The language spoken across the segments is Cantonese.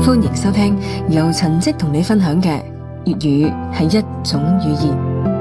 歡迎收聽由陳迹同你分享嘅粵語係一種語言。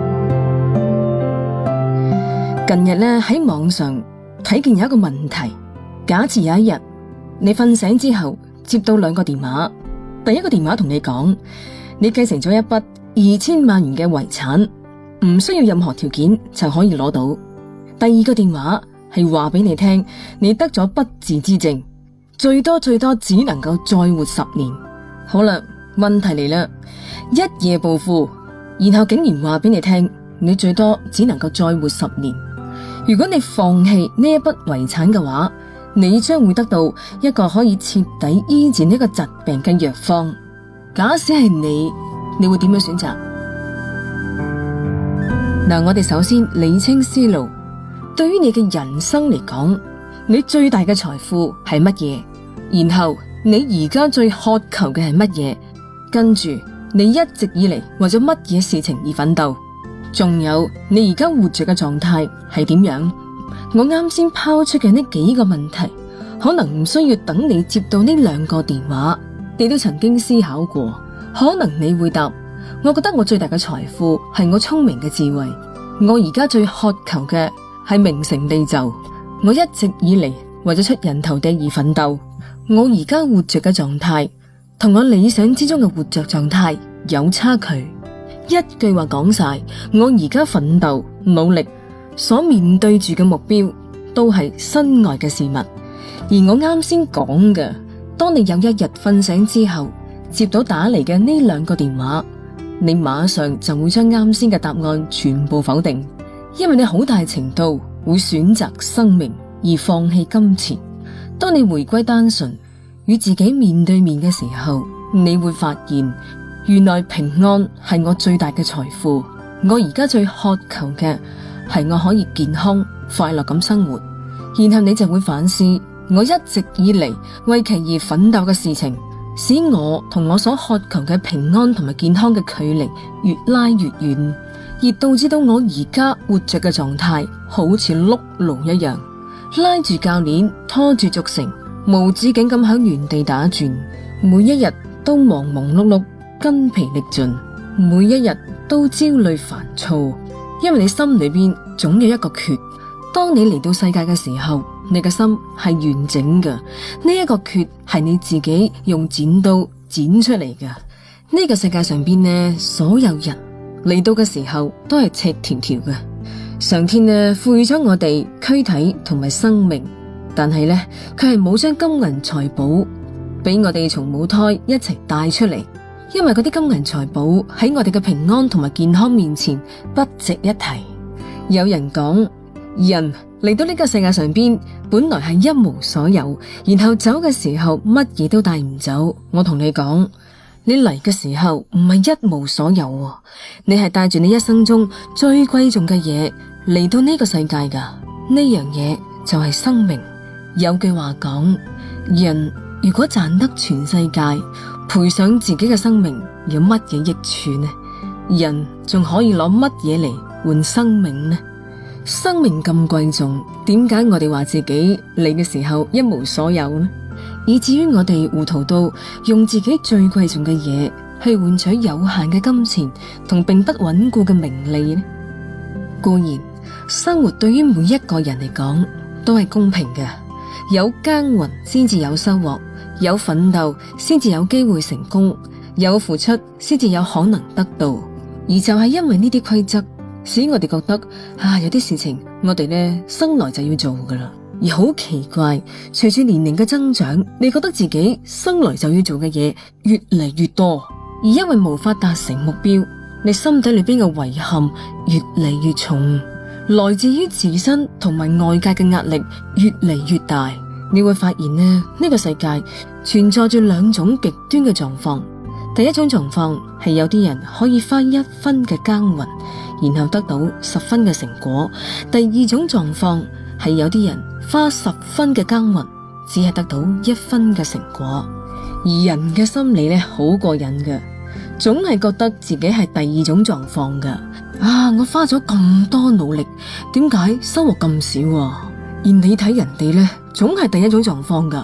近日呢，喺網上睇見有一個問題，假設有一日你瞓醒之後接到2個電話，第一個電話同你講你繼承咗一筆2000萬元嘅遺產，唔需要任何條件就可以攞到。第二個電話係話俾你聽，你得咗不治之症，最多只能夠再活10年。好啦，問題嚟啦，一夜暴富，然後竟然話俾你聽，你最多只能夠再活10年。如果你放棄呢一筆遺產嘅話，你將會得到一個可以徹底醫治呢個疾病嘅藥方。假使係你會點樣選擇？嗱，我哋首先理清思路。對於你嘅人生嚟講，你最大嘅財富係乜嘢？然後你而家最渴求嘅係乜嘢？跟住你一直以嚟為咗乜嘢事情而奮鬥？仲有你而家活着嘅狀態係點樣？我啱先拋出嘅呢幾個問題，可能唔需要等你接到呢2個電話，你都曾經思考過。可能你會答：我覺得我最大嘅財富係我聰明嘅智慧。我而家最渴求嘅係名成利就。我一直以嚟為咗出人頭地而奮鬥。我而家活着嘅狀態同我理想之中嘅活着狀態有差距。一句話講晒，我而家奮鬥努力所面對住嘅目標都係身外嘅事物。而我啱先講嘅，當你有一日瞓醒之後接到打嚟嘅呢2個電話，你馬上就會將啱先嘅答案全部否定，因為你好大程度會選擇生命而放棄金錢。當你回歸單純與自己面對面嘅時候，你會發現原來平安係我最大嘅財富。我而家最渴求嘅係我可以健康快樂咁生活。然後你就會反思，我一直以嚟為其而奮鬥嘅事情，使我同我所渴求嘅平安同埋健康嘅距離越拉越遠，而導致到我而家活着嘅狀態好似碌路一樣，拉住鉸鏈拖住軸承，無止境咁響原地打轉，每一日都忙忙碌碌，筋疲力盡，每一日都焦慮煩躁，因為你心裏邊總有一個缺。當你嚟到世界嘅時候，你嘅心係完整嘅，呢一個缺係你自己用剪刀剪出嚟嘅。呢個世界上邊呢，所有人嚟到嘅時候都係赤條條嘅。上天呢賦予咗我哋軀體同埋生命，但係呢佢係冇將金銀財寶俾我哋從母胎一齊帶出嚟，因為嗰啲金銀財寶喺我哋嘅平安同埋健康面前不值一提。有人講，人嚟到呢個世界上邊本來係一無所有，然後走嘅時候乜嘢都帶唔走。我同你講，你嚟嘅時候唔係一無所有，你係帶住你一生中最貴重嘅嘢嚟到呢個世界噶。呢樣嘢就係生命。有句話講，人如果賺得全世界，賠上自己嘅生命，有乜嘢益處呢？人仲可以攞乜嘢嚟換生命呢？生命咁貴重，點解我哋話自己嚟嘅時候一無所有呢？以至於我哋糊塗到用自己最貴重嘅嘢去換取有限嘅金錢同並不穩固嘅名利呢？固然，生活對於每一個人嚟講都係公平嘅，有耕耘先至有收穫，有奮鬥先至有機會成功，有付出先至有可能得到。而就係因為呢啲規則，使我哋覺得有啲事情我哋呢生來就要做噶啦。而好奇怪，隨住年齡嘅增長，你覺得自己生來就要做嘅嘢越嚟越多，而因為無法達成目標，你心底裏邊嘅遺憾越嚟越重，來自於自身同埋外界嘅壓力越嚟越大。你會發現呢個世界存在住2種極端嘅狀況。第一種狀況係有啲人可以花1分嘅耕耘，然後得到10分嘅成果。第二種狀況係有啲人花10分嘅耕耘，只係得到1分嘅成果。而人嘅心理好過癮嘅，總係覺得自己係第二種狀況嘅。我花咗咁多努力，點解收穫咁少？而你睇人哋總係第一種狀況噶。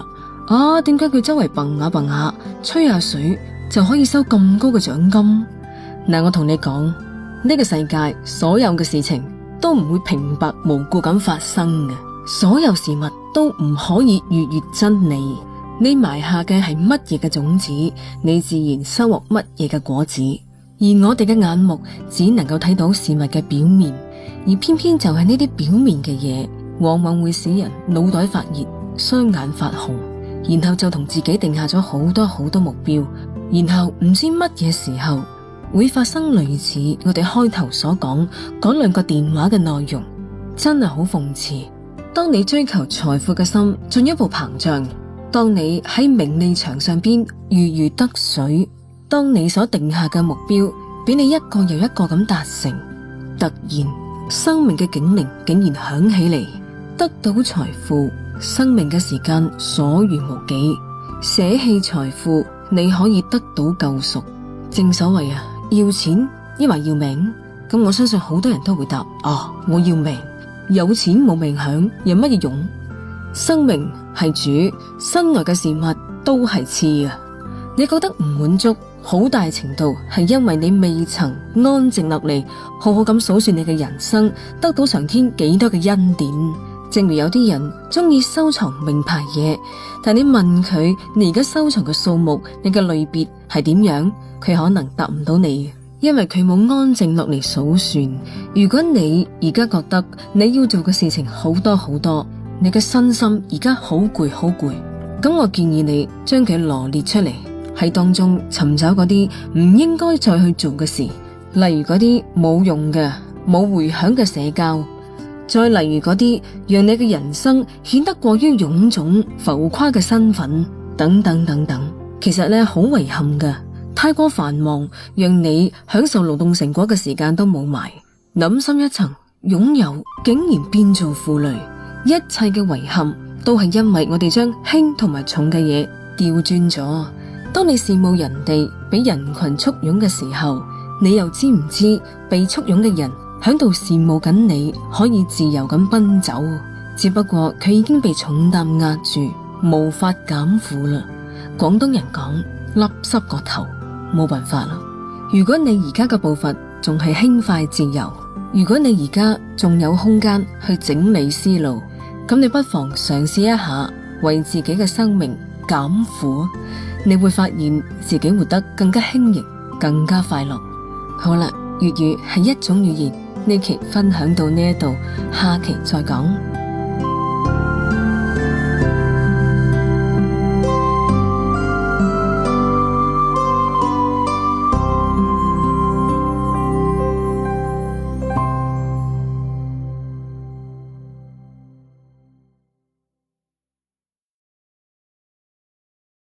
啊，點解佢周圍蹦下蹦下，吹下水就可以收咁高嘅獎金？嗱，我同你講，呢個世界所有嘅事情都唔會平白無故咁發生嘅，所有事物都唔可以逾越真理。你埋下嘅係乜嘢嘅種子，你自然收穫乜嘢嘅果子。而我哋嘅眼目只能夠睇到事物嘅表面，而偏偏就係呢啲表面嘅嘢，往往會使人腦袋發熱、雙眼發紅，然後就同自己定下咗好多好多目標，然後唔知乜嘢時候會發生類似我哋開頭所講嗰兩個電話嘅內容，真係好諷刺。當你追求財富嘅心進一步膨脹，當你喺名利場上邊如魚得水，當你所定下嘅目標俾你一個又一個咁達成，突然生命嘅警鈴竟然響起嚟，得到財富，生命嘅時間所餘無幾，捨棄財富你可以得到救贖。正所謂啊，要錢抑或要命？咁我相信好多人都會答我要命，有錢冇命享有乜嘢用？生命係主，身外嘅事物都係次啊！你覺得唔滿足，好大程度係因為你未曾安靜落嚟，好好咁數算你嘅人生，得到上天幾多嘅恩典。正如有啲人中意收藏名牌嘢，但你問佢你而家收藏嘅數目，你嘅類別係點樣，佢可能答唔到你，因為佢冇安靜落嚟數算。如果你而家覺得你要做嘅事情好多好多，你嘅身心而家好攰好攰，咁我建議你將佢羅列出嚟，喺當中尋找嗰啲唔應該再去做嘅事，例如嗰啲冇用嘅、冇回響嘅社交，再例如嗰啲讓你嘅人生顯得過於臃腫浮誇嘅身份，等等等等。其實咧好遺憾㗎，太過繁忙，讓你享受勞動成果嘅時間都冇埋。諗深一層，擁有竟然變做負累，一切嘅遺憾都係因為我哋將輕同埋重嘅嘢調轉咗。當你羨慕人哋俾人群簇擁嘅時候，你又知唔知被簇擁嘅人響度羨慕緊你可以自由咁奔走？只不過佢已經被重擔壓住，無法減負啦。廣東人講笠濕個頭，冇辦法啦。如果你而家嘅步伐仲係輕快自由，如果你而家仲有空間去整理思路，咁你不妨嘗試一下為自己嘅生命減負，你會發現自己活得更加輕盈，更加快樂。好啦，粵語係一種語言，呢期分享到呢一度，下期再講。